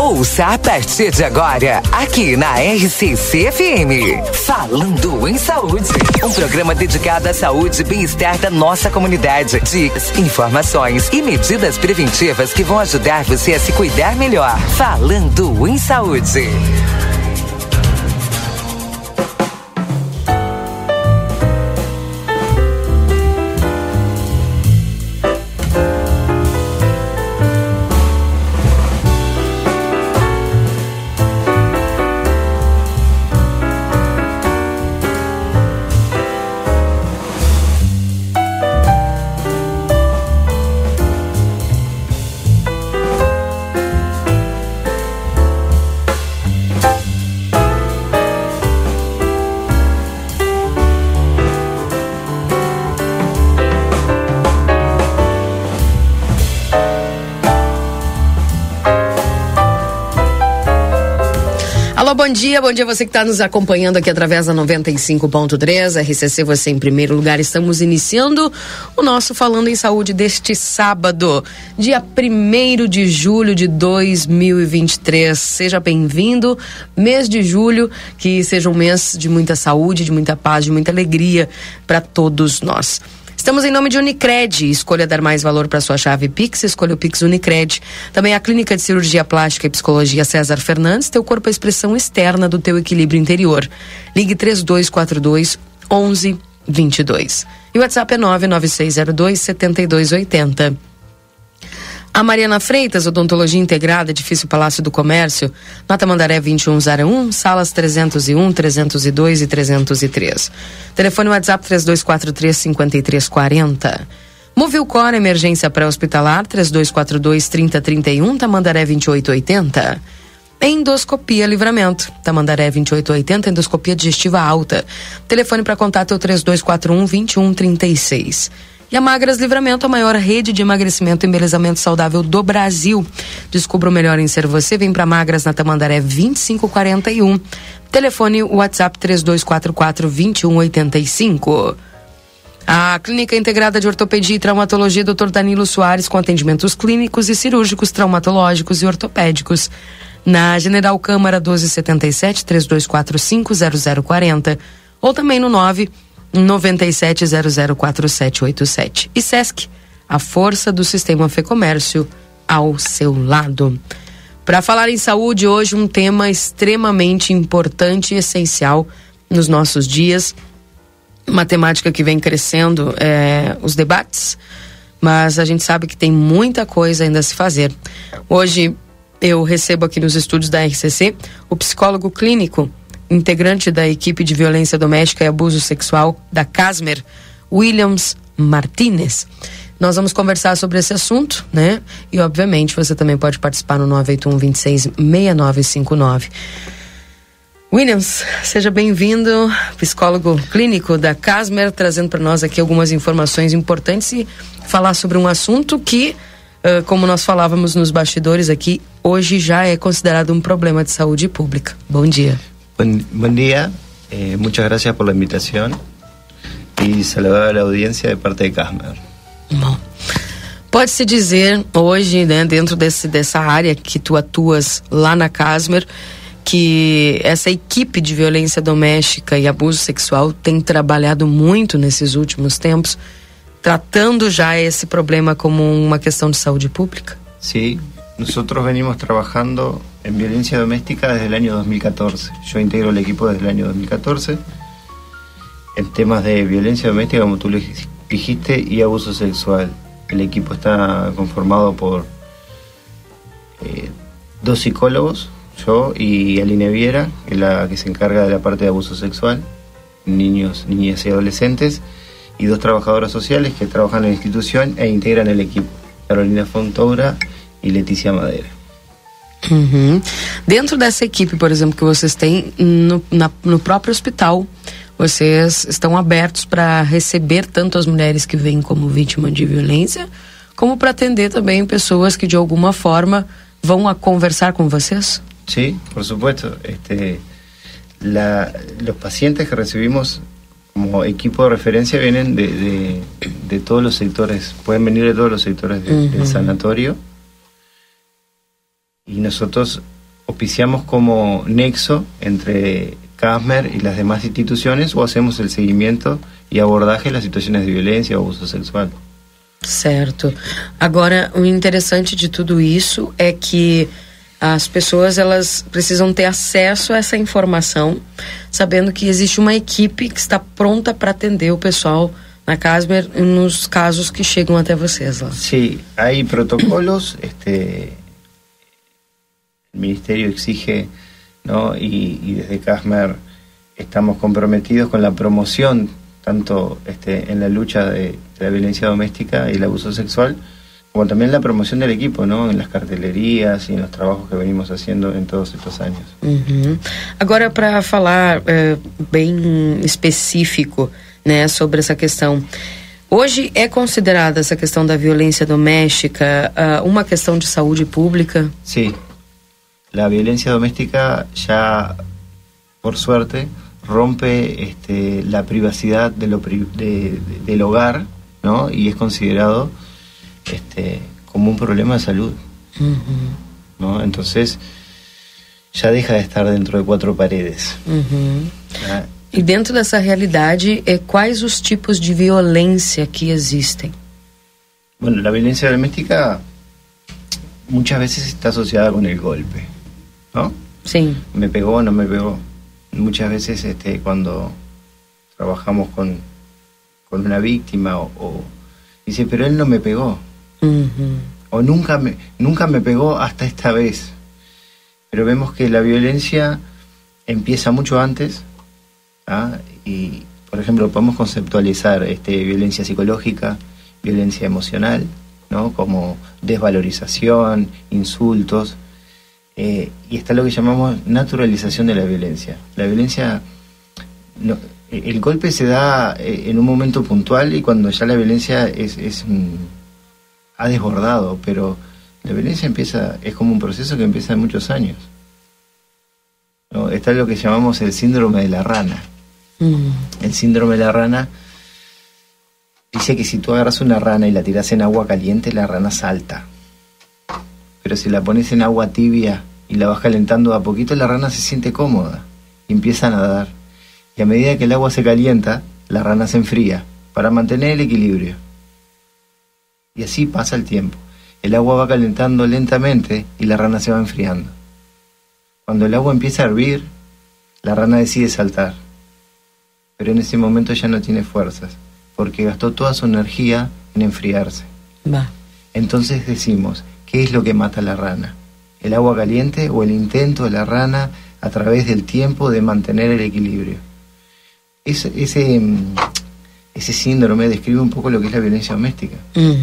Ouça a partir de agora, aqui na RCC-FM. Falando em Saúde. Um programa dedicado à saúde e bem-estar da nossa comunidade. Dicas, informações e medidas preventivas que vão ajudar você a se cuidar melhor. Falando em Saúde. Bom dia você que está nos acompanhando aqui através da 95.3, RCC Você em Primeiro Lugar. Estamos iniciando o nosso Falando em Saúde deste sábado, dia 1º de julho de 2023. Seja bem-vindo, mês de julho, que seja um mês de muita saúde, de muita paz, de muita alegria para todos nós. Estamos em nome de Unicred. Escolha dar mais valor para sua chave Pix. Escolha o Pix Unicred. Também a Clínica de Cirurgia Plástica e Psicologia César Fernandes. Teu corpo é a expressão externa do teu equilíbrio interior. Ligue 3242-1122. E o WhatsApp é 99602-7280. A Mariana Freitas, Odontologia Integrada, Edifício Palácio do Comércio, na Tamandaré 2101, salas 301, 302 e 303. Telefone WhatsApp 3243-5340. Movilcor, emergência pré-hospitalar, 3242-3031, Tamandaré 2880. Endoscopia Livramento, Tamandaré 2880, endoscopia digestiva alta. Telefone para contato é o 3241-2136. E a Magras Livramento, a maior rede de emagrecimento e embelezamento saudável do Brasil. Descubra o melhor em ser você. Vem para Magras na Tamandaré 2541. Telefone WhatsApp 3244-2185. A Clínica Integrada de Ortopedia e Traumatologia Dr. Danilo Soares, com atendimentos clínicos e cirúrgicos, traumatológicos e ortopédicos. Na General Câmara 1277 3245 0040. Ou também no 997004787. E Sesc, a força do sistema Fê Comércio ao seu lado. Para falar em saúde, hoje um tema extremamente importante e essencial nos nossos dias. Uma temática que vem crescendo, os debates, mas a gente sabe que tem muita coisa ainda a se fazer. Hoje eu recebo aqui nos estúdios da RCC o psicólogo clínico, integrante da equipe de violência doméstica e abuso sexual da Casmer, Williams Martínez. Nós vamos conversar sobre esse assunto, né? E obviamente você também pode participar no 981-26-6959. Williams, seja bem-vindo, psicólogo clínico da Casmer, trazendo para nós aqui algumas informações importantes e falar sobre um assunto que, como nós falávamos nos bastidores aqui, hoje já é considerado um problema de saúde pública. Bom dia. Buen día, muchas gracias por la invitación y saludar a la audiencia de parte de Casmer. Bom, pode-se dizer hoje, né, dentro dessa área que tu atuas lá na Casmer, que essa equipe de violência doméstica e abuso sexual tem trabalhado muito nesses últimos tempos, tratando já esse problema como uma questão de saúde pública? Sí, nosotros venimos trabajando en violencia doméstica desde el año 2014. Yo integro el equipo desde el año 2014 en temas de violencia doméstica, como tú lo dijiste, y abuso sexual. El equipo está conformado por 2 psicólogos, yo y Aline Viera, que es la que se encarga de la parte de abuso sexual, niños, niñas y adolescentes, y 2 trabajadoras sociales que trabajan en la institución e integran el equipo, Carolina Fontoura y Letícia Madeira. Uhum. Dentro dessa equipe, por exemplo, que vocês têm no próprio hospital, vocês estão abertos para receber tanto as mulheres que vêm como vítima de violência, como para atender também pessoas que de alguma forma vão a conversar com vocês? Sí, por supuesto. Los pacientes que recibimos como equipo de referencia vienen de todos los sectores, pueden venir de todos los sectores del sanatorio. Y nosotros auspiciamos como nexo entre CASMER y las demás instituciones, o hacemos el seguimiento e abordaje das situações de violência ou abuso sexual. Certo. Agora, o interessante de tudo isso é que as pessoas, elas precisam ter acesso a essa informação, sabendo que existe uma equipe que está pronta para atender o pessoal na CASMER nos casos que chegam até vocês lá. Sí, hay protocolos, el Ministerio exige, ¿no? Y desde CASMER estamos comprometidos con la promoción, tanto en la lucha de la violencia doméstica y el abuso sexual, como también la promoción del equipo, ¿no? En las cartelerías y en los trabajos que venimos haciendo en todos estos años. Uhum. Agora, para falar bem específico, né, sobre essa questão, hoje é considerada essa questão da violência doméstica uma questão de saúde pública? Sí, la violencia doméstica ya, por suerte, rompe la privacidad del hogar, ¿no? Y es considerado como un problema de salud, ¿no? Entonces ya deja de estar dentro de cuatro paredes. ¿Ah? E dentro dessa realidade, quais os tipos de violência que existem? Bueno, la violencia doméstica muchas veces está asociada con el golpe, ¿no? Sí. Me pegó o no me pegó. Muchas veces cuando trabajamos con una víctima o dice, pero él no me pegó. O nunca me pegó hasta esta vez. Pero vemos que la violencia empieza mucho antes, ¿ah? Y, por ejemplo, podemos conceptualizar violencia psicológica, violencia emocional, ¿no? Como desvalorización, insultos, y está lo que llamamos naturalización de la violencia. La violencia, el golpe se da en un momento puntual y cuando ya la violencia ha desbordado, pero la violencia es como un proceso que empieza en muchos años, ¿no? Está lo que llamamos el síndrome de la rana. El síndrome de la rana dice que si tú agarras una rana y la tiras en agua caliente, la rana salta. Pero si la pones en agua tibia y la vas calentando a poquito, la rana se siente cómoda y empieza a nadar. Y a medida que el agua se calienta, la rana se enfría para mantener el equilibrio. Y así pasa el tiempo. El agua va calentando lentamente y la rana se va enfriando. Cuando el agua empieza a hervir, la rana decide saltar. Pero en ese momento ya no tiene fuerzas, porque gastó toda su energía en enfriarse. Va. Entonces decimos, ¿qué es lo que mata a la rana? ¿El agua caliente o el intento de la rana a través del tiempo de mantener el equilibrio? Ese síndrome describe un poco lo que es la violencia doméstica.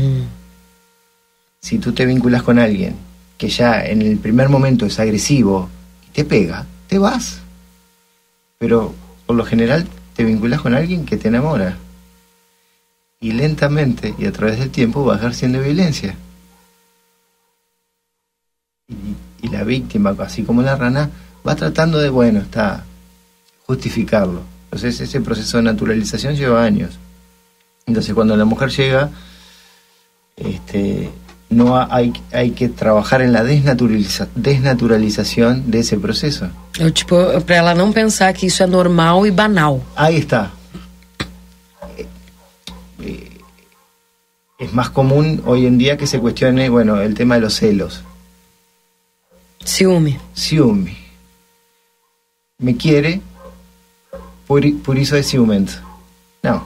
Si tú te vinculas con alguien que ya en el primer momento es agresivo y te pega, te vas. Pero por lo general te vinculas con alguien que te enamora. Y lentamente y a través del tiempo va ejerciendo violencia. Y la víctima, así como la rana, va tratando de, justificarlo. Entonces ese proceso de naturalización lleva años. Entonces cuando la mujer llega, hay que trabajar en la desnaturalización de ese proceso. Para ela não pensar que isso é normal e banal. Ahí está. Es más común hoy en día que se cuestione, el tema de los celos. Ciúme. Me quiere, por eso es ciumento. No.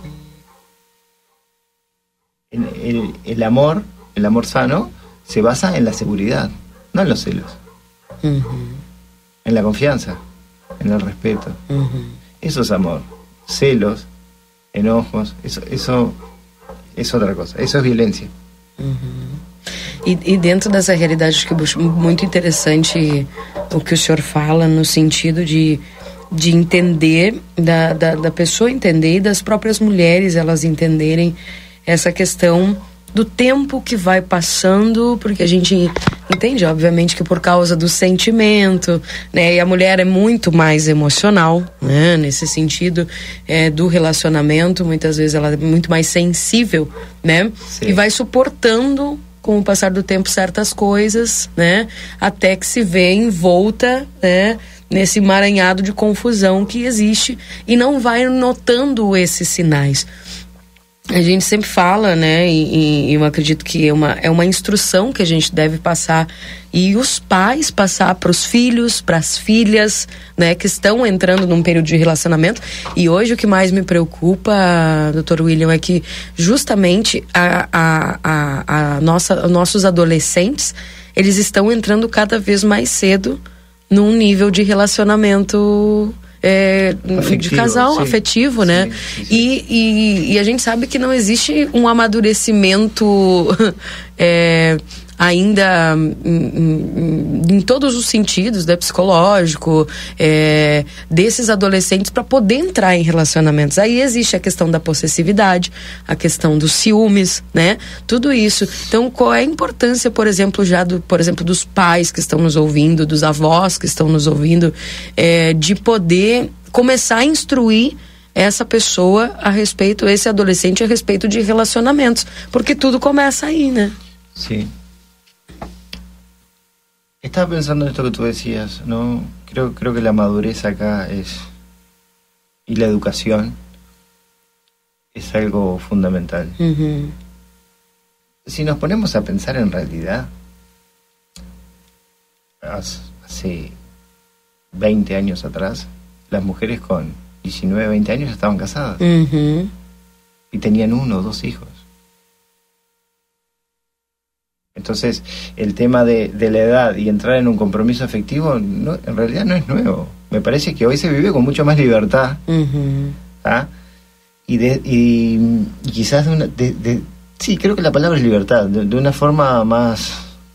El amor sano se basa en la seguridad, no en los celos. En la confianza, en el respeto. Eso es amor. Celos, enojos, eso es otra cosa. Eso es violencia. E dentro dessa realidade, acho que é muito interessante o que o senhor fala, no sentido de entender, da pessoa entender e das próprias mulheres elas entenderem essa questão do tempo que vai passando, porque a gente entende, obviamente, que por causa do sentimento, né, e a mulher é muito mais emocional, né, nesse sentido do relacionamento, muitas vezes ela é muito mais sensível, né, e vai suportando com o passar do tempo, certas coisas, né? Até que se vê envolta, né? Nesse emaranhado de confusão que existe e não vai notando esses sinais. A gente sempre fala, né, e eu acredito que é uma instrução que a gente deve passar, e os pais passar para os filhos, para as filhas, né, que estão entrando num período de relacionamento. E hoje o que mais me preocupa, Dr. William, é que justamente nossos adolescentes, eles estão entrando cada vez mais cedo num nível de relacionamento afetivo, de casal, sim, afetivo, né? Sim, sim. E a gente sabe que não existe um amadurecimento ainda em todos os sentidos, né, psicológico, desses adolescentes para poder entrar em relacionamentos. Aí existe a questão da possessividade, a questão dos ciúmes, né? Tudo isso. Então, qual é a importância, por exemplo, dos pais que estão nos ouvindo, dos avós que estão nos ouvindo, de poder começar a instruir essa pessoa a respeito, esse adolescente a respeito de relacionamentos, porque tudo começa aí, né? Sim. Estaba pensando en esto que tú decías, ¿no? Creo que la madurez acá y la educación es algo fundamental. Uh-huh. Si nos ponemos a pensar en realidad, hace 20 años atrás, las mujeres con 19, 20 años estaban casadas. Uh-huh. Y tenían 1 o 2 hijos. Entonces, el tema de la edad y entrar en un compromiso afectivo, en realidad no es nuevo. Me parece que hoy se vive con mucho más libertad. Uh-huh. ¿Ah? Y quizás sí, creo que la palabra es libertad, de una forma más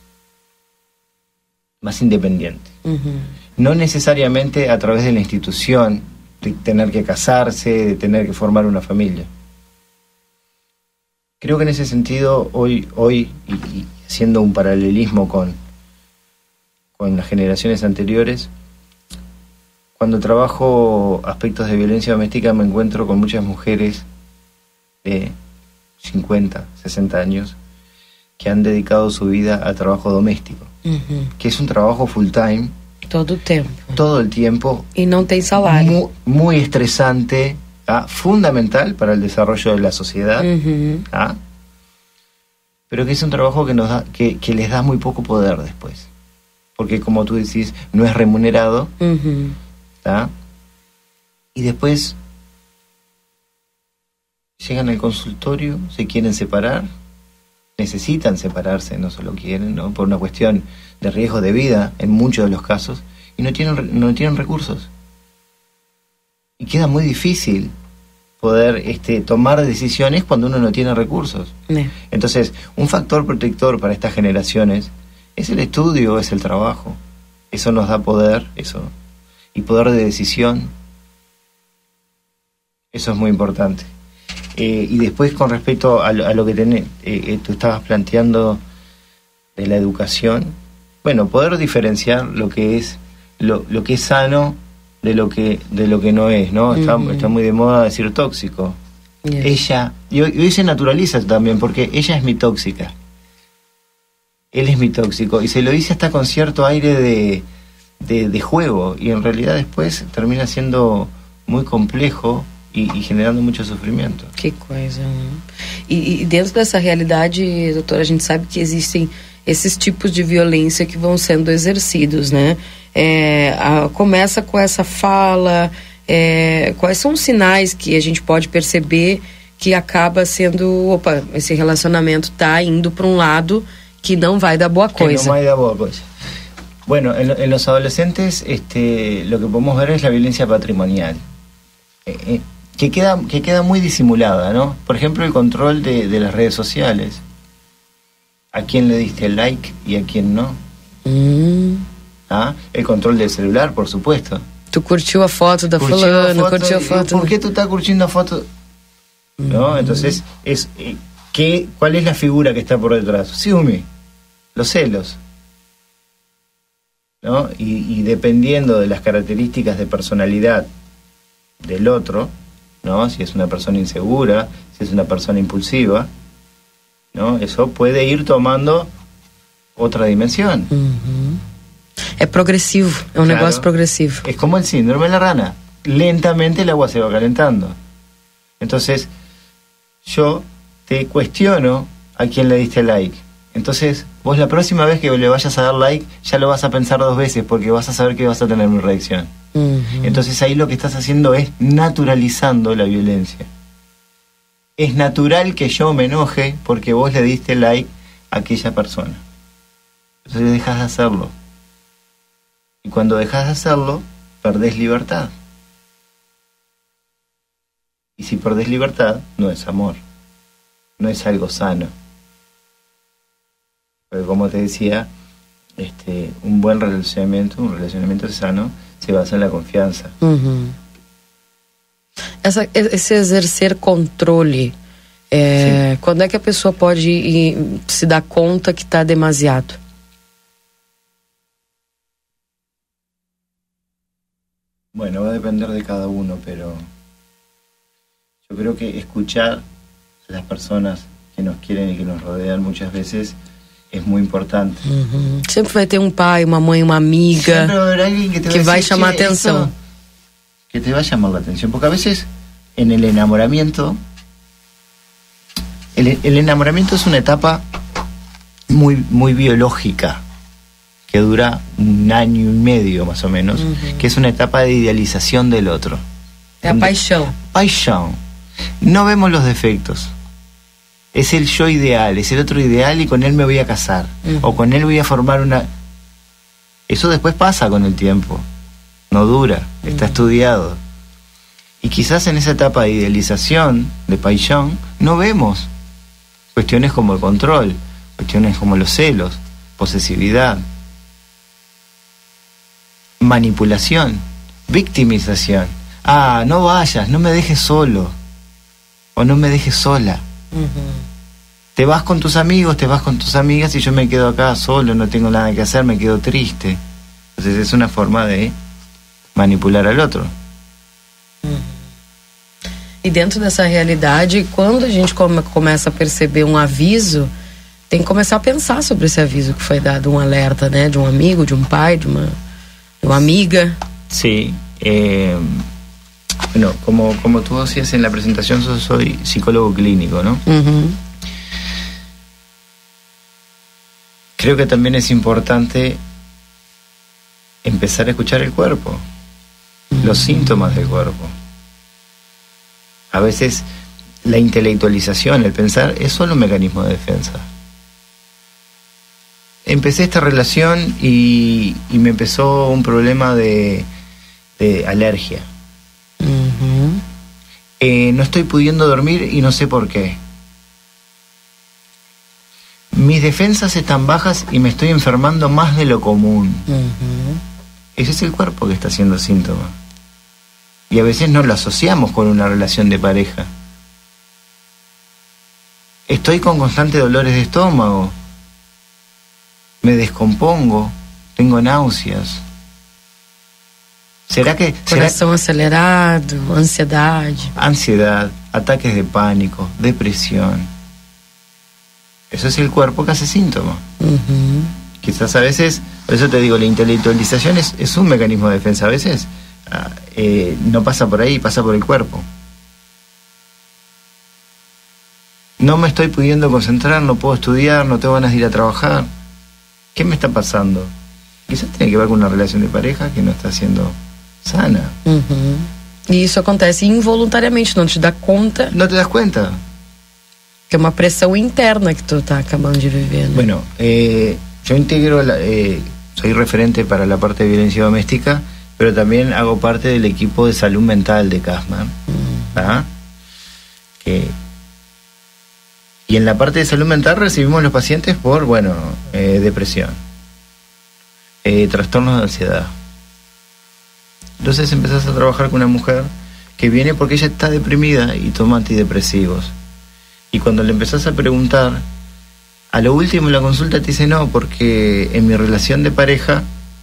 independiente. Uh-huh. No necesariamente a través de la institución, de tener que casarse, de tener que formar una familia. Creo que en ese sentido, hoy y haciendo un paralelismo con las generaciones anteriores, cuando trabajo aspectos de violencia doméstica me encuentro con muchas mujeres de 50, 60 años que han dedicado su vida al trabajo doméstico, uh-huh, que es un trabajo full time. Todo el tiempo. Y no tem salario. Muy estresante, fundamental para el desarrollo de la sociedad. Uh-huh. Pero que es un trabajo que les da muy poco poder después. Porque como tú decís, no es remunerado. Uh-huh. Y después llegan al consultorio, se quieren separar, necesitan separarse, no solo quieren, ¿no? Por una cuestión de riesgo de vida en muchos de los casos, y no tienen recursos. Y queda muy difícil poder tomar decisiones cuando uno no tiene recursos. Entonces, un factor protector para estas generaciones es el estudio, es el trabajo. Eso nos da poder, y poder de decisión. Eso es muy importante. Y después, con respecto a lo que tú estabas planteando de la educación, bueno, poder diferenciar lo que es sano de lo que no es, ¿no? Uh-huh. Está muy de moda decir tóxico. Yes. Ella, y hoy se naturaliza también, porque ella es mi tóxica, él es mi tóxico, y se lo dice hasta con cierto aire de juego, y en realidad después termina siendo muy complejo y generando mucho sofrimento. Que coisa, né? E dentro dessa realidade, doutora, a gente sabe que existem esses tipos de violência que vão sendo exercidos, né? Começa com essa fala, quais são os sinais que a gente pode perceber que acaba sendo, esse relacionamento está indo para um lado que não vai dar boa coisa. Que não vai dar boa coisa. Bueno, en los adolescentes lo que podemos ver es la violencia patrimonial, que queda muy disimulada, ¿no? Por ejemplo, el control de las redes sociales. ¿A quién le diste el like y a quién no? El control del celular, por supuesto. Tu curtiu a foto da fulana, curtiu a foto... ¿Por qué tú estás curtiendo a foto? ¿No? Entonces, ¿cuál es la figura que está por detrás? Ciúme, los celos, ¿no? Y dependiendo de las características de personalidad del otro, ¿no? Si es una persona insegura, si es una persona impulsiva, ¿no? Eso puede ir tomando otra dimensión. Es progresivo, es un negocio progresivo. Es como el síndrome de la rana. Lentamente el agua se va calentando. Entonces, yo te cuestiono a quién le diste like. Entonces, vos la próxima vez que le vayas a dar like, ya lo vas a pensar 2 veces, porque vas a saber que vas a tener una reacción. Entonces ahí lo que estás haciendo es naturalizando la violencia. Es natural que yo me enoje porque vos le diste like a aquella persona. Entonces dejas de hacerlo. Y cuando dejas de hacerlo, perdés libertad. Y si perdés libertad, no es amor. No es algo sano. Porque como te decía, un buen relacionamiento, un relacionamiento sano, se basa en la confianza. Esse exercer controle, quando é que a pessoa pode se dar conta que está demasiado? Bueno, va a depender de cada uno, pero yo creo que escuchar a las personas que nos quieren y que nos rodean muchas veces es muy importante. Sempre vai ter pai, uma mãe, uma amiga que vai chamar atenção. Que te va a llamar la atención, porque a veces en el enamoramiento, el enamoramiento es una etapa muy biológica, que dura 1 año y medio más o menos, que es una etapa de idealización del otro. É a paixão. Paixão. No vemos los defectos. Es el yo ideal, es el otro ideal y con él me voy a casar. O con él voy a formar una... Eso después pasa con el tiempo. No dura, está estudiado. Y quizás en esa etapa de idealización, de paixão, no vemos cuestiones como el control, cuestiones como los celos, posesividad, manipulación, victimización. Ah, no vayas, no me dejes solo. O no me dejes sola. Te vas con tus amigos, te vas con tus amigas y yo me quedo acá solo, no tengo nada que hacer, me quedo triste. Entonces es una forma de manipular al outro. E dentro dessa realidade, quando a gente começa a perceber um aviso, tem que começar a pensar sobre esse aviso que foi dado, um alerta, né? De um amigo, de um pai, de uma amiga. Sí. Bueno, como tú decías en la presentación, yo soy psicólogo clínico, ¿no? Creo que también es importante empezar a escuchar el cuerpo, los síntomas del cuerpo. A veces la intelectualización, el pensar, es solo un mecanismo de defensa. Empecé esta relación y me empezó un problema de alergia. No estoy pudiendo dormir y no sé por qué. Mis defensas están bajas y me estoy enfermando más de lo común. Ese es el cuerpo que está haciendo síntoma. Y a veces no lo asociamos con una relación de pareja. Estoy con constantes dolores de estómago. Me descompongo. Tengo náuseas. ¿Será que... Coração acelerado, ansiedade. Ansiedad, ataques de pánico, depresión. Eso es el cuerpo que hace síntoma. Quizás a veces, por eso te digo, la intelectualización es un mecanismo de defensa. A veces no pasa por ahí, pasa por el cuerpo. No me estoy pudiendo concentrar, no puedo estudiar, no tengo ganas de ir a trabajar. ¿Qué me está pasando? Quizás tiene que ver con una relación de pareja que no está siendo sana. E isso acontece involuntariamente, não te dá conta. ¿No te das cuenta? Que é uma pressão interna que tu tá acabando de viver, né? Bueno, yo integro, soy referente para la parte de violencia doméstica, pero también hago parte del equipo de salud mental de Casman. Y en la parte de salud mental recibimos los pacientes por, depresión, trastornos de ansiedad. Entonces empezás a trabajar con una mujer que viene porque ella está deprimida y toma antidepresivos. Y cuando le empezás a preguntar, a lo último en la consulta te dice no, porque en mi relación de pareja,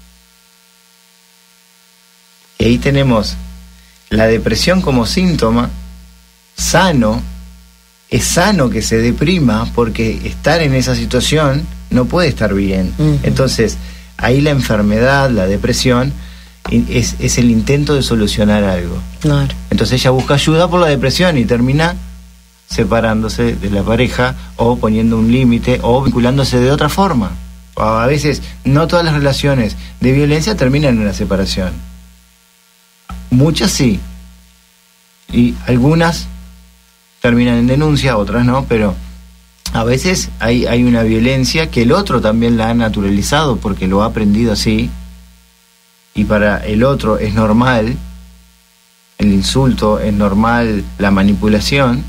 y ahí tenemos la depresión como síntoma sano, es sano que se deprima, porque estar en esa situación no puede estar bien. Entonces, ahí la enfermedad, la depresión, es el intento de solucionar algo. Claro. Entonces ella busca ayuda por la depresión y termina separándose de la pareja, o poniendo un límite, o vinculándose de otra forma. A veces, no todas las relaciones de violencia terminan en una separación. Muchas sí. Y algunas terminan en denuncia, otras no, pero a veces hay una violencia que el otro también la ha naturalizado porque lo ha aprendido así, y para el otro es normal el insulto, es normal la manipulación,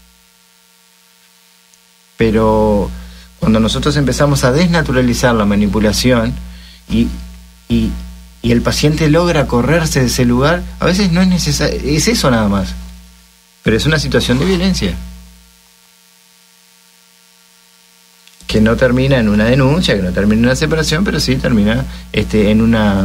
pero cuando nosotros empezamos a desnaturalizar la manipulación y el paciente logra correrse de ese lugar, a veces no es necesario, es eso nada más, pero es una situación de violencia que no termina en una denuncia, que no termina en una separación, pero sí termina en una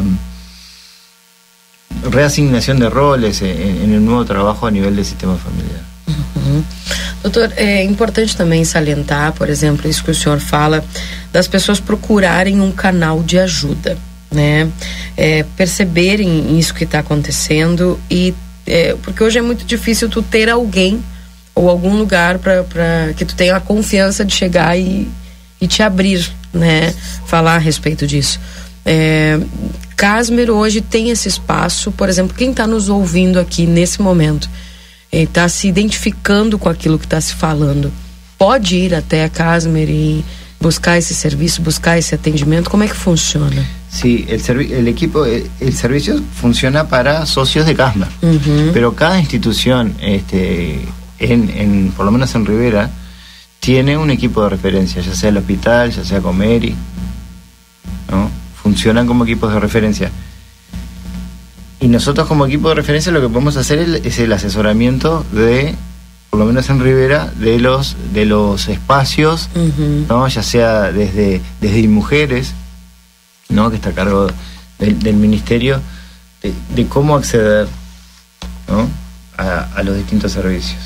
reasignación de roles, en un nuevo trabajo a nivel del sistema familiar. Doutor, é importante também salientar, por exemplo, isso que o senhor fala, das pessoas procurarem um canal de ajuda, né? Perceberem isso que está acontecendo, e porque hoje é muito difícil tu ter alguém ou algum lugar para que tu tenha a confiança de chegar e te abrir, né? Falar a respeito disso. Casmer hoje tem esse espaço, por exemplo, quem está nos ouvindo aqui nesse momento, está se identificando com aquilo que está se falando, pode ir até a Casmer e buscar esse serviço, buscar esse atendimento? Como é que funciona? Sí, el servicio funciona para socios de Casmer, pero cada institución, por lo menos en Rivera, tiene un equipo de referencia, ya sea el hospital, ya sea Comeri, ¿no? Funcionan como equipos de referencia. Y nosotros como equipo de referencia lo que podemos hacer es el asesoramiento de, por lo menos en Rivera, de los espacios, ¿no? Ya sea desde mujeres, ¿no? Que está a cargo del ministerio, de cómo acceder, ¿no? a los distintos servicios.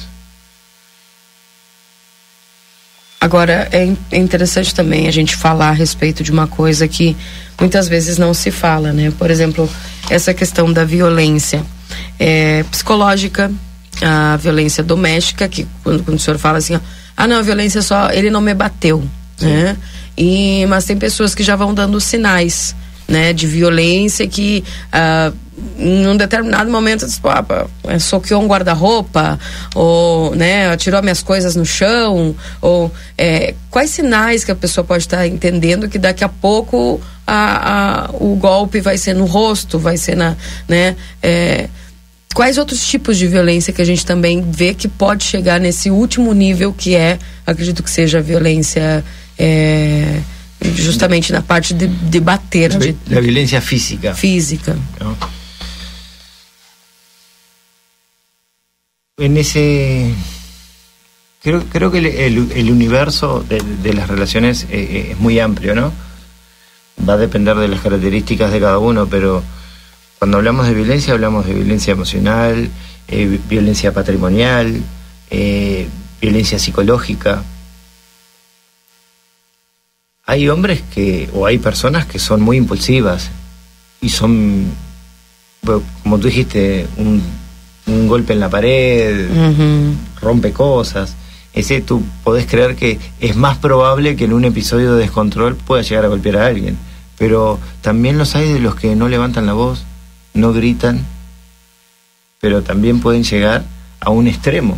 Agora, é interessante também a gente falar a respeito de uma coisa que muitas vezes não se fala, né? Por exemplo, essa questão da violência psicológica, a violência doméstica, que quando o senhor fala assim, não, a violência só, ele não me bateu, né? Mas tem pessoas que já vão dando sinais, né, de violência, que em um determinado momento soqueou um guarda-roupa, ou, né, atirou minhas coisas no chão, ou quais sinais que a pessoa pode estar entendendo que daqui a pouco o golpe vai ser no rosto, vai ser né, quais outros tipos de violência que a gente também vê que pode chegar nesse último nível, que acredito que seja a violência justamente na parte de bater, la violencia física. ¿No? En ese creo que el universo de las relaciones es muy amplio, ¿no? Va a depender de las características de cada uno, pero cuando hablamos de violencia emocional, violencia patrimonial, violencia psicológica. Hay hombres o hay personas que son muy impulsivas y son, como tú dijiste, un golpe en la pared, rompe cosas. Ese tú podés creer que es más probable que en un episodio de descontrol pueda llegar a golpear a alguien. Pero también los hay de los que no levantan la voz, no gritan, pero también pueden llegar a un extremo.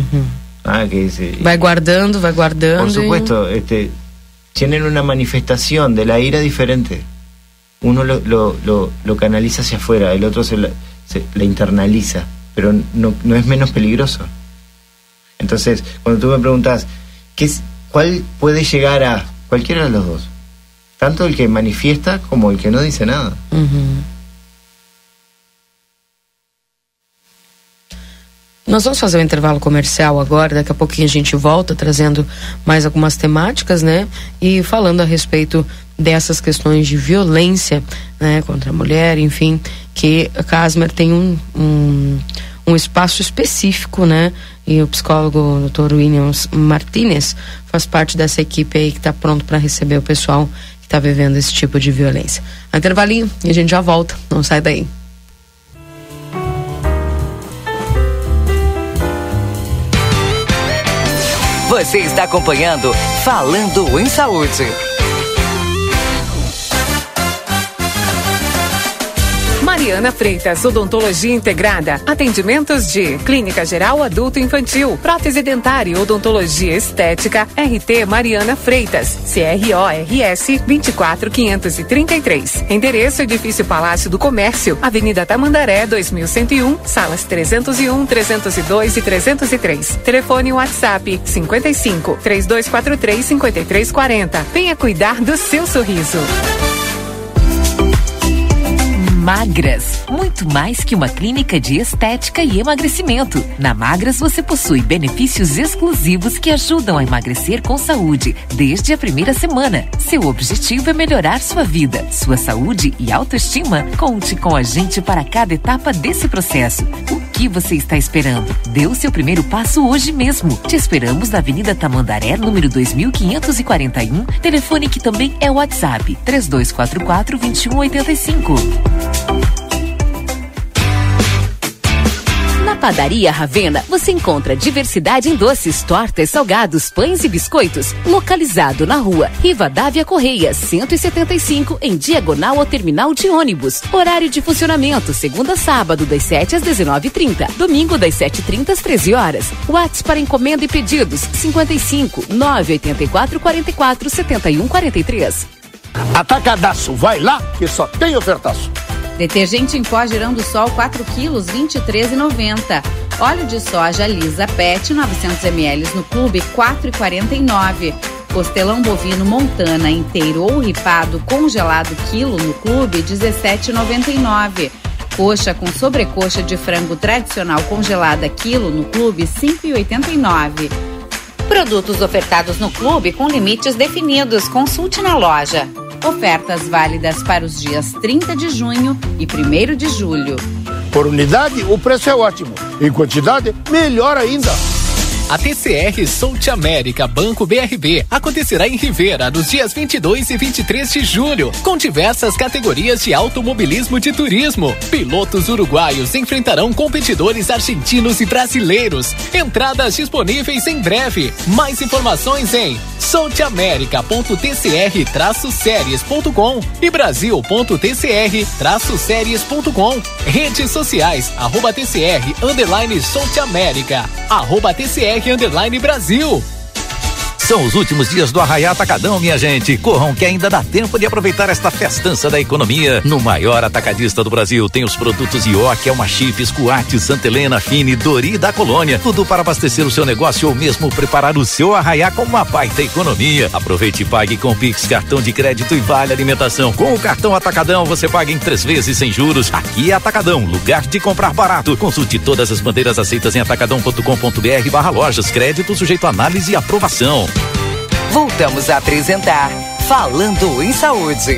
Va guardando. Por supuesto, tienen una manifestación de la ira diferente. Uno lo canaliza hacia afuera, el otro se la internaliza, pero no es menos peligroso. Entonces, cuando tú me preguntas ¿cuál puede llegar a cualquiera de los dos? Tanto el que manifiesta como el que no dice nada. Nós vamos fazer um intervalo comercial agora, daqui a pouquinho a gente volta trazendo mais algumas temáticas, né? E falando a respeito dessas questões de violência, né, contra a mulher, enfim, que a Casmer tem um um espaço específico, né? E o psicólogo Dr. Williams Martinez faz parte dessa equipe aí que está pronto para receber o pessoal que está vivendo esse tipo de violência. Intervalinho e a gente já volta, não sai daí. Você está acompanhando Falando em Saúde. Mariana Freitas, Odontologia Integrada. Atendimentos de Clínica Geral Adulto Infantil, Prótese Dentária e Odontologia Estética. RT Mariana Freitas, CRORS 24533. Endereço Edifício Palácio do Comércio, Avenida Tamandaré 2101, salas 301, 302 e 303. Telefone WhatsApp 55 3243 5340. Venha cuidar do seu sorriso. Magras, muito mais que uma clínica de estética e emagrecimento. Na Magras você possui benefícios exclusivos que ajudam a emagrecer com saúde desde a primeira semana. Seu objetivo é melhorar sua vida, sua saúde e autoestima. Conte com a gente para cada etapa desse processo. O que você está esperando? Dê o seu primeiro passo hoje mesmo. Te esperamos na Avenida Tamandaré, número 2541, telefone que também é WhatsApp 3244-2185. Na Padaria Ravena, você encontra diversidade em doces, tortas, salgados, pães e biscoitos. Localizado na rua Rivadavia Correia, 175, em diagonal ao terminal de ônibus. Horário de funcionamento, segunda a sábado, das 7 às 19h30. Domingo, das 7h30 às 13 horas. WhatsApp para encomenda e pedidos, 55 984 44 71 43. Atacadaço, vai lá que só tem ofertaço. Detergente em pó Girando Sol 4 quilos, R$ 23,90. Óleo de soja Lisa Pet 900 ml no clube, R$ 4,49. Costelão bovino Montana inteiro ou ripado congelado quilo no clube, R$ 17,99. Coxa com sobrecoxa de frango tradicional congelada quilo no clube, R$ 5,89. Produtos ofertados no clube com limites definidos. Consulte na loja. Ofertas válidas para os dias 30 de junho e 1º de julho. Por unidade, o preço é ótimo. Em quantidade, melhor ainda. A TCR South América Banco BRB acontecerá em Rivera nos dias 22 e 23 de julho, com diversas categorias de automobilismo de turismo. Pilotos uruguaios enfrentarão competidores argentinos e brasileiros. Entradas disponíveis em breve. Mais informações em southeamerica.tcr-series.com e brasil.tcr-series.com. Redes sociais, @TCR_South América, @TCR Brasil. São os últimos dias do Arraiá Atacadão, minha gente. Corram que ainda dá tempo de aproveitar esta festança da economia. No maior atacadista do Brasil tem os produtos Ioki, Elma Chips, Coate, Santa Helena, Fini, Dori da Colônia. Tudo para abastecer o seu negócio ou mesmo preparar o seu Arraiá com uma baita economia. Aproveite e pague com Pix, cartão de crédito e vale alimentação. Com o cartão Atacadão você paga em 3 vezes sem juros. Aqui é Atacadão, lugar de comprar barato. Consulte todas as bandeiras aceitas em atacadão.com.br/lojas. Crédito sujeito a análise e aprovação. Voltamos a apresentar Falando em Saúde.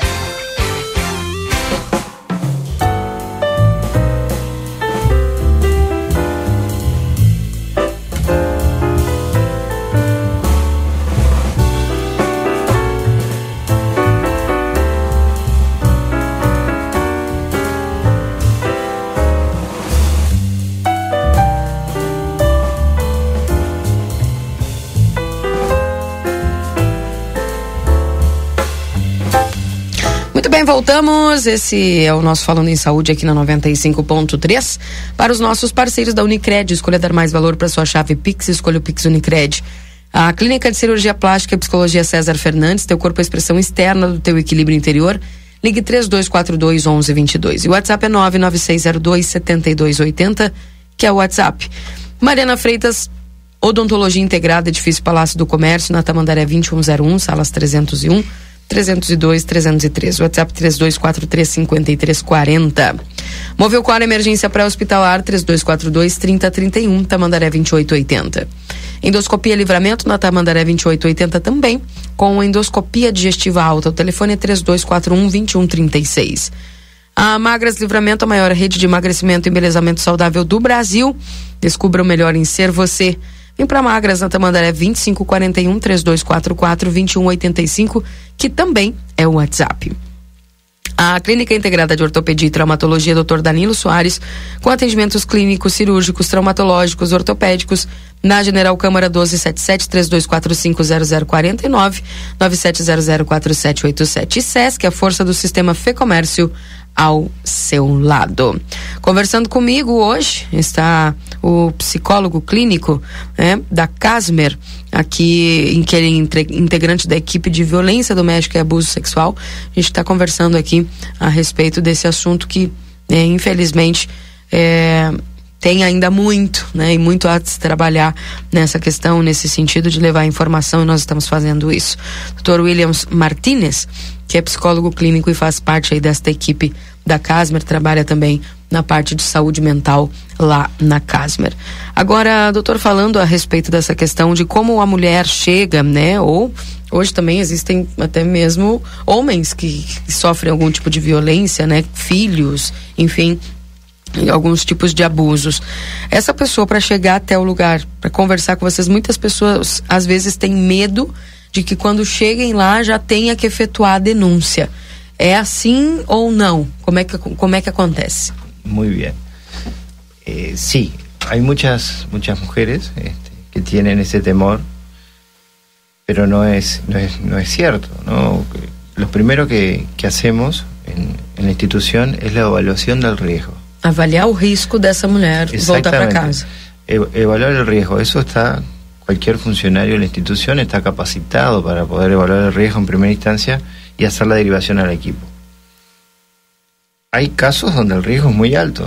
Bem, voltamos. Esse é o nosso Falando em Saúde aqui na 95.3. Para os nossos parceiros da Unicred, escolha dar mais valor para sua chave Pix, escolha o Pix Unicred. A Clínica de Cirurgia Plástica e Psicologia César Fernandes, teu corpo é a expressão externa do teu equilíbrio interior. Ligue 3242-1122. E o WhatsApp é 99602-7280, que é o WhatsApp. Mariana Freitas, Odontologia Integrada, Edifício Palácio do Comércio, na Tamandaré 2101, salas 301. 302, 313, WhatsApp 3243-5340. Movelcor Emergência Pré-Hospitalar 3242-3031, Tamandaré 2880. Endoscopia Livramento na Tamandaré 2880 também, com endoscopia digestiva alta. O telefone é 3241-2136. A Magras Livramento, a maior rede de emagrecimento e embelezamento saudável do Brasil. Descubra o melhor em ser você. Vem pra Magras, na Tamandaré 2541 3244 2185, que também é o WhatsApp. A Clínica Integrada de Ortopedia e Traumatologia Dr. Danilo Soares, com atendimentos clínicos, cirúrgicos, traumatológicos, ortopédicos, na General Câmara 1277 3245 0049 97004787. E SESC, a força do sistema Fê Comércio ao seu lado. Conversando comigo hoje está o psicólogo clínico, da Casmer, aqui em que ele é integrante da equipe de violência doméstica e abuso sexual. A gente está conversando aqui a respeito desse assunto que, infelizmente, tem ainda muito, e muito a se trabalhar nessa questão, nesse sentido de levar informação, e nós estamos fazendo isso. Dr. Williams Martínez, que é psicólogo clínico e faz parte aí desta equipe da Casmer, trabalha também na parte de saúde mental lá na Casmer. Agora, doutor, falando a respeito dessa questão de como a mulher chega, ou hoje também existem até mesmo homens que sofrem algum tipo de violência, filhos, enfim, alguns tipos de abusos. Essa pessoa, para chegar até o lugar, para conversar com vocês, muitas pessoas às vezes têm medo de que quando cheguem lá já tenha que efetuar a denúncia. É assim ou não? Como é que acontece? Muy bien. Sí, hay muchas mujeres que tienen ese temor, pero no es cierto, ¿no? Lo primero que hacemos en la institución es la evaluación del riesgo. Avaliar o risco dessa mulher voltar para casa. Evaluar el riesgo, eso está, cualquier funcionario de la institución está capacitado para poder evaluar el riesgo en primera instancia y hacer la derivación al equipo. Hay casos donde el riesgo es muy alto,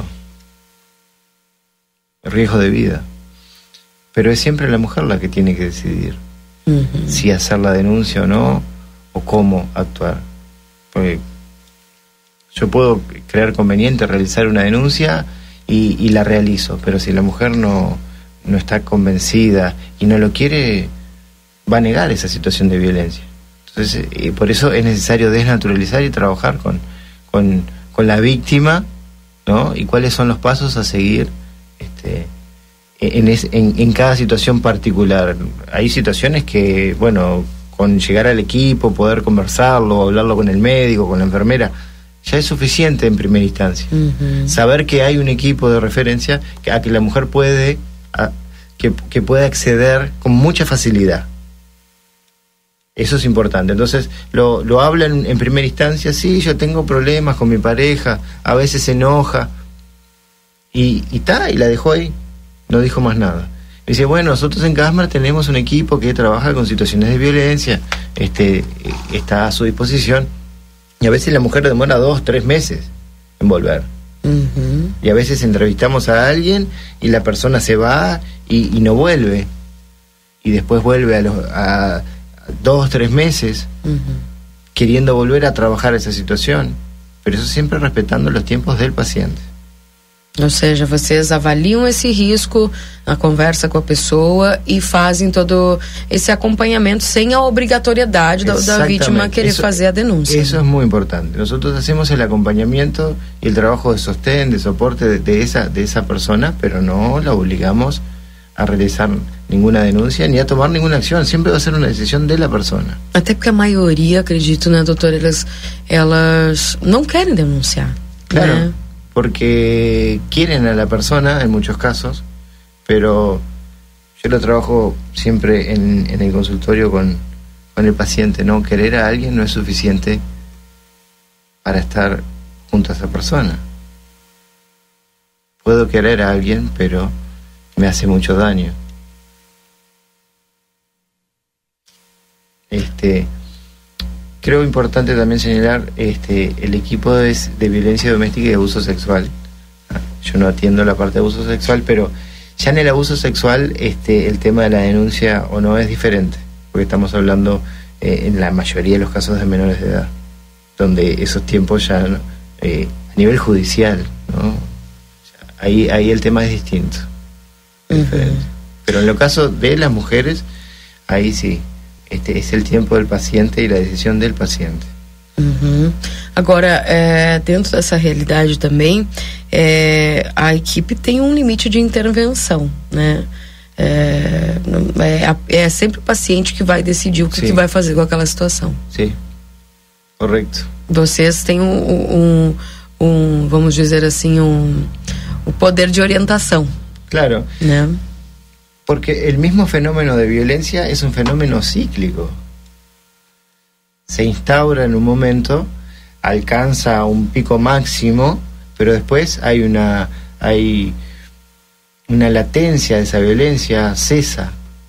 el riesgo de vida, pero es siempre la mujer la que tiene que decidir si hacer la denuncia o no, o cómo actuar. Porque yo puedo creer conveniente realizar una denuncia y la realizo, pero si la mujer no está convencida y no lo quiere, va a negar esa situación de violencia. Entonces, por eso es necesario desnaturalizar y trabajar con la víctima, ¿no? Y cuáles son los pasos a seguir en cada situación particular. Hay situaciones que, con llegar al equipo, poder conversarlo, hablarlo con el médico, con la enfermera, ya es suficiente en primera instancia. Saber que hay un equipo de referencia a que la mujer puede acceder con mucha facilidad. Eso es importante. Entonces lo hablan en primera instancia. Sí, yo tengo problemas con mi pareja, a veces se enoja y la dejó ahí, no dijo más nada. Dice, nosotros en Casmer tenemos un equipo que trabaja con situaciones de violencia, está a su disposición. Y a veces la mujer demora 2-3 meses en volver. Y a veces entrevistamos a alguien y la persona se va y no vuelve. Y después vuelve a 2-3 meses queriendo volver a trabajar esa situación. Pero eso siempre respetando los tiempos del paciente. Ou seja, vocês avaliam esse risco na conversa com a pessoa e fazem todo esse acompanhamento sem a obrigatoriedade da vítima querer fazer a denúncia. Eso es muy importante. Nosotros hacemos el acompañamiento y el trabajo de sostén, de soporte de esa persona, pero no la obligamos a realizar ninguna denuncia ni a tomar ninguna acción. Siempre va a ser una decisión de la persona. Até porque a maioria, acredito, doutor, elas não querem denunciar. Claro. Porque quieren a la persona en muchos casos, pero yo lo trabajo siempre en el consultorio con el paciente, ¿no? Querer a alguien no es suficiente para estar junto a esa persona. Puedo querer a alguien, pero me hace mucho daño. Creo importante también señalar el equipo de violencia doméstica y de abuso sexual. Yo no atiendo la parte de abuso sexual, pero ya en el abuso sexual el tema de la denuncia o no es diferente, porque estamos hablando en la mayoría de los casos de menores de edad, donde esos tiempos ya a nivel judicial, ¿no? Ahí el tema es distinto, diferente. Pero en el caso de las mujeres, ahí sí. Es el tiempo del paciente y la decisión del paciente. Agora, dentro dessa realidade também, a equipe tem um limite de intervenção, né? É sempre o paciente que vai decidir o que vai fazer com aquela situação. Sim, correto. Vocês têm vamos dizer assim, o poder de orientação. Claro, ¿no? Porque el mismo fenómeno de violencia es un fenómeno cíclico. Se instaura en un momento, alcanza un pico máximo, pero después hay una latencia de esa violencia, cesa.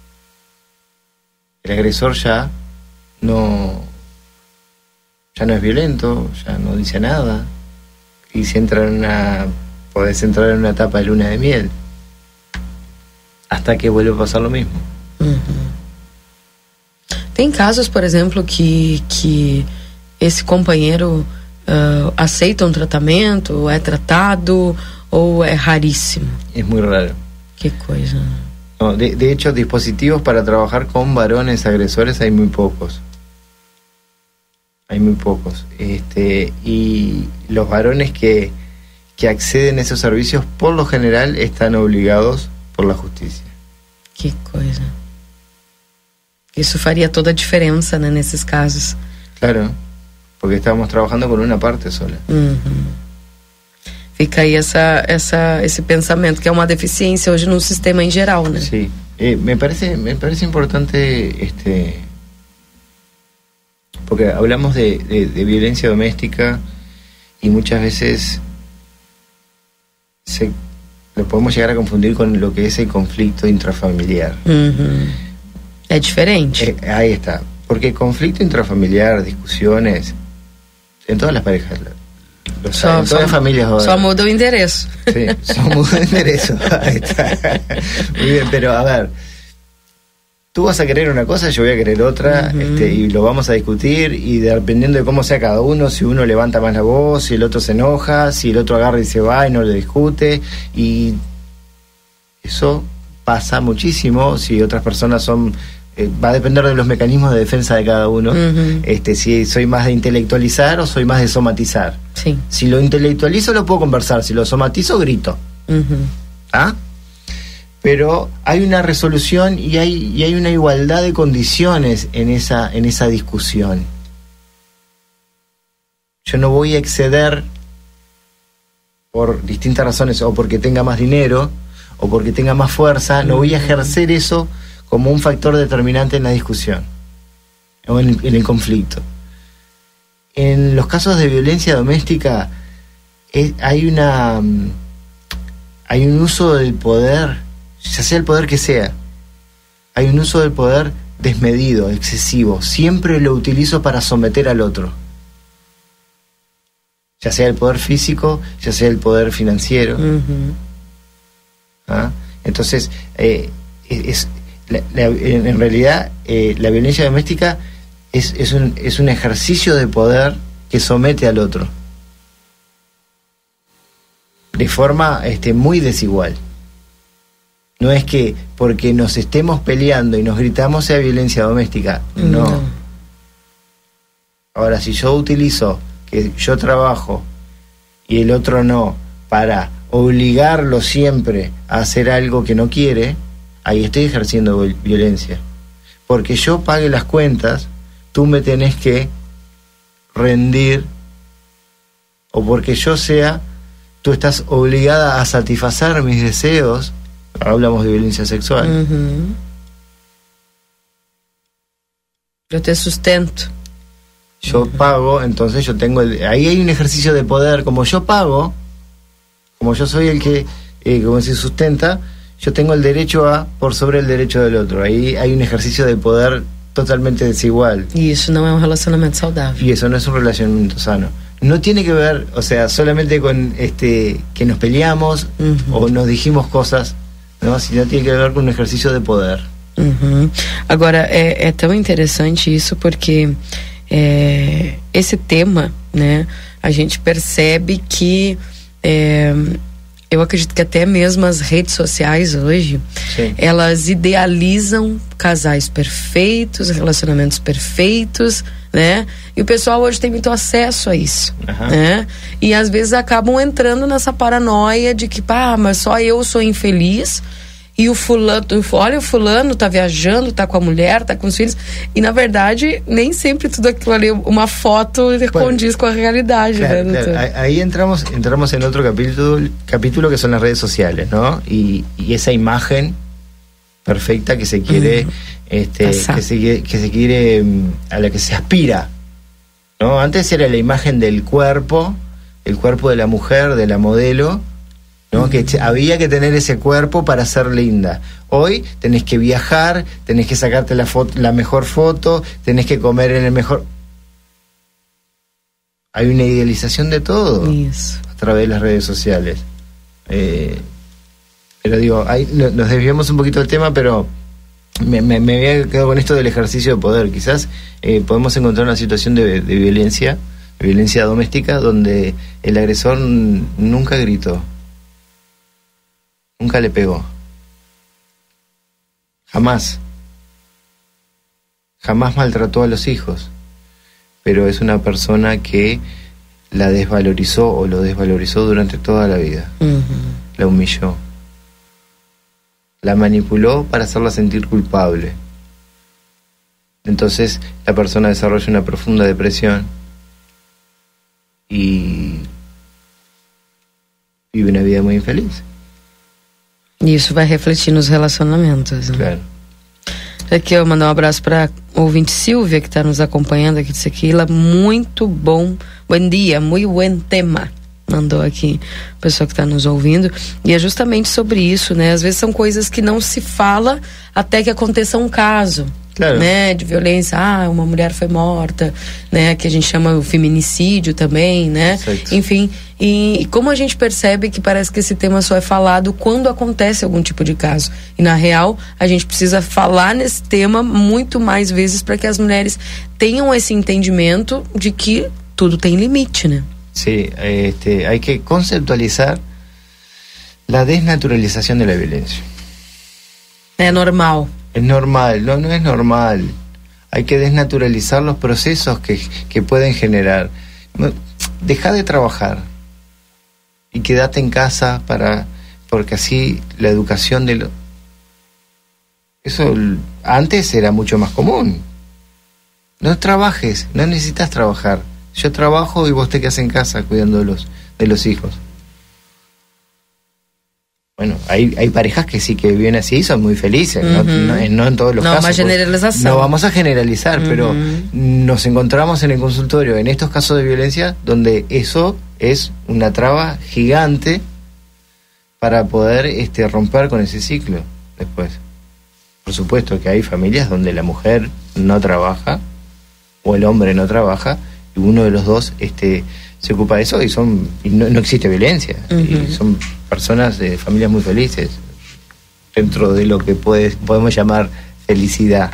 El agresor ya no es violento, ya no dice nada, y podés entrar en una etapa de luna de miel, hasta que vuelve a pasar lo mismo. Tem casos, por exemplo, que esse companheiro aceita um tratamento, é tratado, ou é raríssimo? Es muy raro. Que coisa. No, de hecho, dispositivos para trabajar con varones agresores hay muy pocos. Hay muy pocos. Y los varones que acceden a esos servicios, por lo general, están obligados por la justicia. Que coisa. Isso faria toda a diferença, né, nesses casos. Claro, porque estamos trabajando con una parte sola. Fica aí esse pensamento, que é uma deficiência hoje no sistema em geral, né? Sí, me parece importante, porque hablamos de violencia doméstica y muchas veces lo podemos llegar a confundir con lo que es el conflicto intrafamiliar. É diferente. Ahí está, porque conflicto intrafamiliar, discusiones, en todas las parejas, en todas las familias. Só muda o endereço. Sí, só muda el enderezo. Ahí está. Muy bien, pero a ver, tú vas a querer una cosa, yo voy a querer otra, y lo vamos a discutir, y dependiendo de cómo sea cada uno, si uno levanta más la voz, si el otro se enoja, si el otro agarra y se va y no le discute, y eso pasa muchísimo. Si otras personas va a depender de los mecanismos de defensa de cada uno. Si soy más de intelectualizar o soy más de somatizar. Sí. Si lo intelectualizo lo puedo conversar, si lo somatizo grito. Pero hay una resolución y hay una igualdad de condiciones en esa discusión. Yo no voy a exceder por distintas razones, o porque tenga más dinero o porque tenga más fuerza, no voy a ejercer eso como un factor determinante en la discusión o en el conflicto. En los casos de violencia doméstica hay un uso del poder, ya sea el poder que sea, hay un uso del poder desmedido, excesivo. Siempre lo utilizo para someter al otro, ya sea el poder físico, ya sea el poder financiero. Entonces, en realidad la violencia doméstica es un ejercicio de poder que somete al otro de forma muy desigual. No es que porque nos estemos peleando y nos gritamos sea violencia doméstica, no. Ahora, si yo utilizo que yo trabajo y el otro no, para obligarlo siempre a hacer algo que no quiere, ahí estoy ejerciendo violencia. Porque yo pague las cuentas, tú me tenés que rendir, o porque tú estás obligada a satisfacer mis deseos. Hablamos de violencia sexual. Yo te sustento. Yo pago, entonces yo tengo ahí hay un ejercicio de poder. Como yo pago, como yo soy el que como se sustenta, yo tengo el derecho por sobre el derecho del otro. Ahí hay un ejercicio de poder totalmente desigual. Y eso no es un relacionamiento saludable. Y eso no es un relacionamiento sano. No tiene que ver, solamente con que nos peleamos o nos dijimos cosas, ¿no? Sino tiene que ver con un ejercicio de poder. Agora, é tão interessante isso porque esse tema, né, a gente percebe que eu acredito que até mesmo as redes sociais hoje, elas idealizam casais perfeitos, relacionamentos perfeitos, né? E o pessoal hoje tem muito acesso a isso, né? E às vezes acabam entrando nessa paranoia de que, mas só eu sou infeliz e o fulano, olha, o fulano tá viajando, tá com a mulher, tá com os filhos, e na verdade nem sempre tudo aquilo ali, uma foto condiz com a realidade, claro, né? Claro. Ahí entramos en otro capítulo que son las redes sociales, ¿no? Y esa imagen perfecta que se quiere que se quiere, a la que se aspira, ¿no? Antes era la imagen del cuerpo, el cuerpo de la mujer, de la modelo, ¿no? Que había que tener ese cuerpo para ser linda. Hoy tenés que viajar, tenés que sacarte la mejor foto, tenés que comer en el mejor... Hay una idealización de todo a través de las redes sociales. Pero digo, ahí nos desviamos un poquito del tema, pero me había quedado con esto del ejercicio de poder. Quizás podemos encontrar una situación de violencia doméstica, donde el agresor nunca gritó, nunca le pegó, jamás maltrató a los hijos, pero es una persona que la desvalorizó o lo desvalorizó durante toda la vida. La humilló, la manipuló para hacerla sentir culpable. Entonces la persona desarrolla una profunda depresión y vive una vida muy infeliz. E isso vai refletir nos relacionamentos, né? Claro. Aqui eu mandar um abraço para ouvinte Silvia, que está nos acompanhando aqui de Sequila. Muito bom dia, muito bom tema. Mandou aqui a pessoa que está nos ouvindo. E é justamente sobre isso, né? Às vezes são coisas que não se fala até que aconteça um caso, claro, né? De violência, uma mulher foi morta, né? Que a gente chama o feminicídio também, né? Certo. Enfim, e como a gente percebe que parece que esse tema só é falado quando acontece algum tipo de caso. E na real, a gente precisa falar nesse tema muito mais vezes para que as mulheres tenham esse entendimento de que tudo tem limite, né? Sí, hay que conceptualizar la desnaturalización de la violencia. É normal. Es normal, no es normal. Hay que desnaturalizar los procesos que pueden generar. Deja de trabajar y quédate en casa porque así la educación eso antes era mucho más común. No trabajes, no necesitas trabajar. Yo trabajo y vos te quedas en casa cuidando de los hijos. Bueno, hay parejas que sí que viven así y son muy felices, no en todos los casos. Más generalización. No vamos a generalizar, pero nos encontramos en el consultorio, en estos casos de violencia, donde eso es una traba gigante para poder romper con ese ciclo después. Por supuesto que hay familias donde la mujer no trabaja o el hombre no trabaja, y uno de los dos se ocupa de eso y no existe violencia. Y son personas de familias muy felices dentro de lo que podemos llamar felicidad.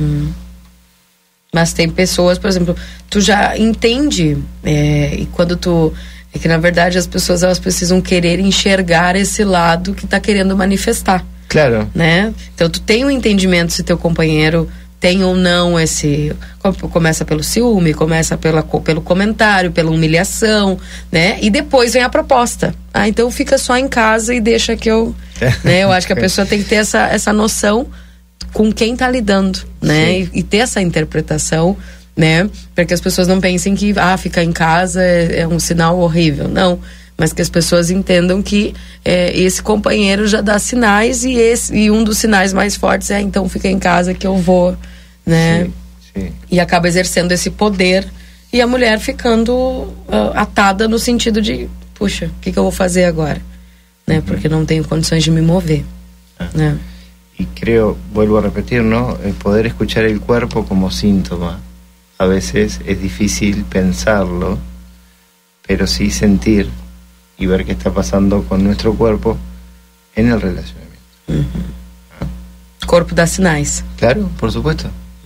Mas tem pessoas, por exemplo, tu já entende e quando é que na verdade as pessoas elas precisam querer enxergar esse lado que tá querendo manifestar. Claro. Né? Então tu tem um entendimento se teu companheiro tem ou não começa pelo ciúme, começa pelo comentário, pela humilhação, né? E depois vem a proposta. Então fica só em casa e deixa que eu... né? Eu acho que a pessoa tem que ter essa noção com quem tá lidando, né? E ter essa interpretação, né? Para que as pessoas não pensem que ficar em casa é um sinal horrível. Não. Mas que as pessoas entendam que esse companheiro já dá sinais e um dos sinais mais fortes é então fica em casa que eu vou, né? Sim. E acaba exercendo esse poder e a mulher ficando atada no sentido de, puxa, o que eu vou fazer agora? Né? Porque não tenho condições de me mover. Né? Y creo, vuelvo a repetir, ¿no? El poder escuchar el cuerpo como síntoma. A veces es difícil pensarlo, pero sí sentir y ver qué está pasando con nuestro cuerpo en el relacionamiento. O corpo dá sinais. Claro, por supuesto.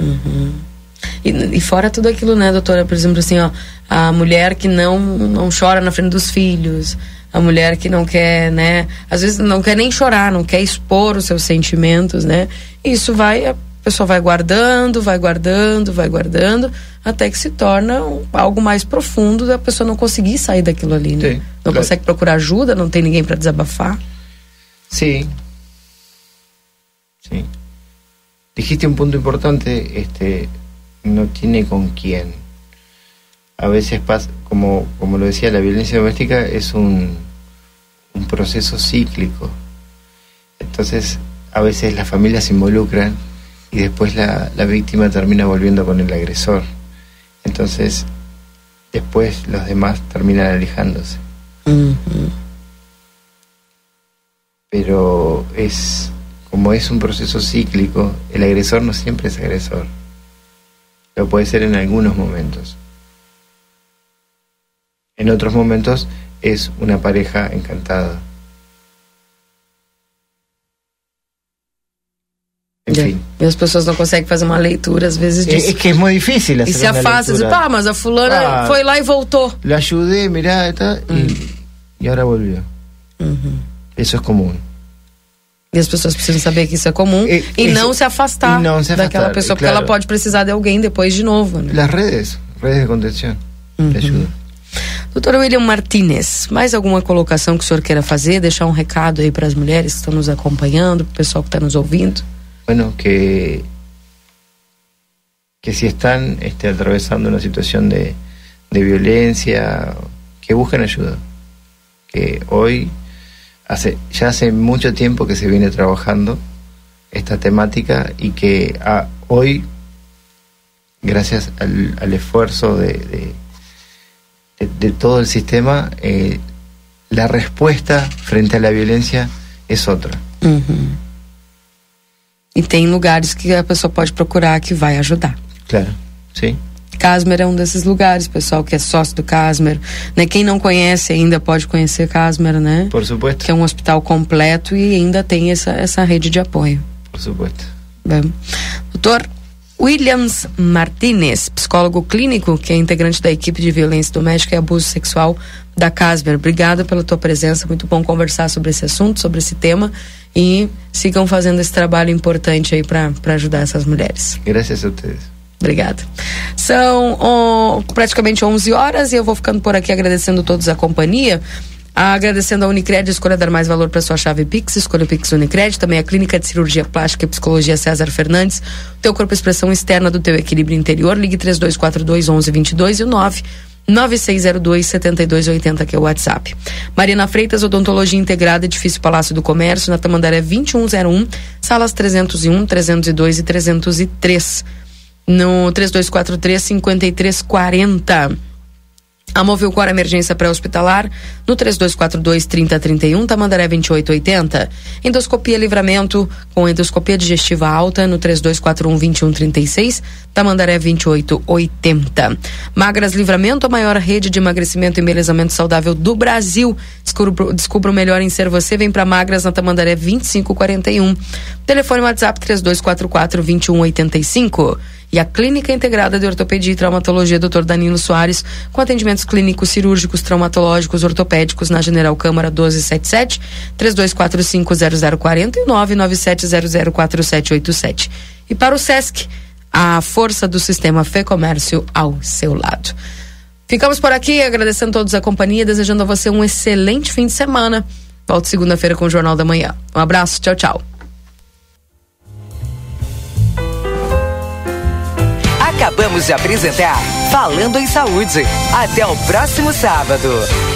E fora tudo aquilo, né, doutora? Por exemplo, assim, a mulher que não chora na frente dos filhos, a mulher que não quer, né, às vezes não quer nem chorar, não quer expor os seus sentimentos, né? Isso vai pessoa vai guardando, até que se torna algo mais profundo da pessoa não conseguir sair daquilo ali, né? Sí, não consegue procurar ajuda, não tem ninguém para desabafar. Sí. Sí. Dijiste un punto importante, no tiene con quién. A veces pasa, como lo decía, la violencia doméstica es un proceso cíclico. Entonces, a veces las familias se involucran y después la víctima termina volviendo con el agresor. Entonces, después los demás terminan alejándose. Uh-huh. Pero como es un proceso cíclico, el agresor no siempre es agresor. Lo puede ser en algunos momentos. En otros momentos es una pareja encantada. Enfim. E as pessoas não conseguem fazer uma leitura, às vezes, disso. É que é muito difícil e se afasta, diz, mas a fulana foi lá e voltou. Le ajudei, mirá, e agora volviu. Uhum. Isso é comum. E as pessoas precisam saber que isso é comum e não se afastar daquela pessoa, porque ela pode precisar de alguém depois de novo, né? As redes de contenção, de ajuda. Doutor William Martínez, mais alguma colocação que o senhor queira fazer? Deixar um recado aí para as mulheres que estão nos acompanhando, para o pessoal que está nos ouvindo? Bueno, que si están atravesando una situación de violencia, que busquen ayuda. Que hoy, ya hace mucho tiempo que se viene trabajando esta temática y que hoy, gracias al esfuerzo de todo el sistema, la respuesta frente a la violencia es otra. Uhum. E tem lugares que a pessoa pode procurar que vai ajudar. Claro, sim. Casmer é um desses lugares, pessoal que é sócio do Casmer, né? Quem não conhece ainda pode conhecer Casmer, né? Por supuesto. Que é um hospital completo e ainda tem essa rede de apoio. Por supuesto. Bem. Doutor Williams Martínez, psicólogo clínico, que é integrante da equipe de violência doméstica e abuso sexual da Casmer. Obrigada pela tua presença, muito bom conversar sobre esse assunto, sobre esse tema, e sigam fazendo esse trabalho importante aí para ajudar essas mulheres. Graças a vocês. Obrigada. São praticamente 11 horas e eu vou ficando por aqui agradecendo a todos a companhia. Agradecendo a Unicred, escolha dar mais valor para sua chave Pix, escolha o Pix Unicred, também a Clínica de Cirurgia Plástica e Psicologia César Fernandes, teu corpo expressão externa do teu equilíbrio interior, ligue 3242-1122 e o 99602-7280, que é o WhatsApp. Mariana Freitas, Odontologia Integrada, Edifício Palácio do Comércio, na Tamandaré 2101, salas 301, 302 e 303, no 3243-5340. A Movilcor Emergência Pré-Hospitalar no 3242-3031, Tamandaré 2880. Endoscopia Livramento com endoscopia digestiva alta no 3241-2136, Tamandaré 2880. Magras Livramento, a maior rede de emagrecimento e embelezamento saudável do Brasil. Descubra o melhor em ser você. Vem para Magras na Tamandaré 2541. Telefone WhatsApp 3244-2185. E a Clínica Integrada de Ortopedia e Traumatologia Dr. Danilo Soares, com atendimentos clínicos, cirúrgicos, traumatológicos, ortopédicos, na General Câmara 1277, 3245-0040 e 997004787. E para o SESC, a força do sistema Fê Comércio ao seu lado. Ficamos por aqui, agradecendo a todos a companhia, desejando a você um excelente fim de semana. Volto segunda-feira com o Jornal da Manhã. Um abraço, tchau, tchau. Acabamos de apresentar Falando em Saúde. Até o próximo sábado.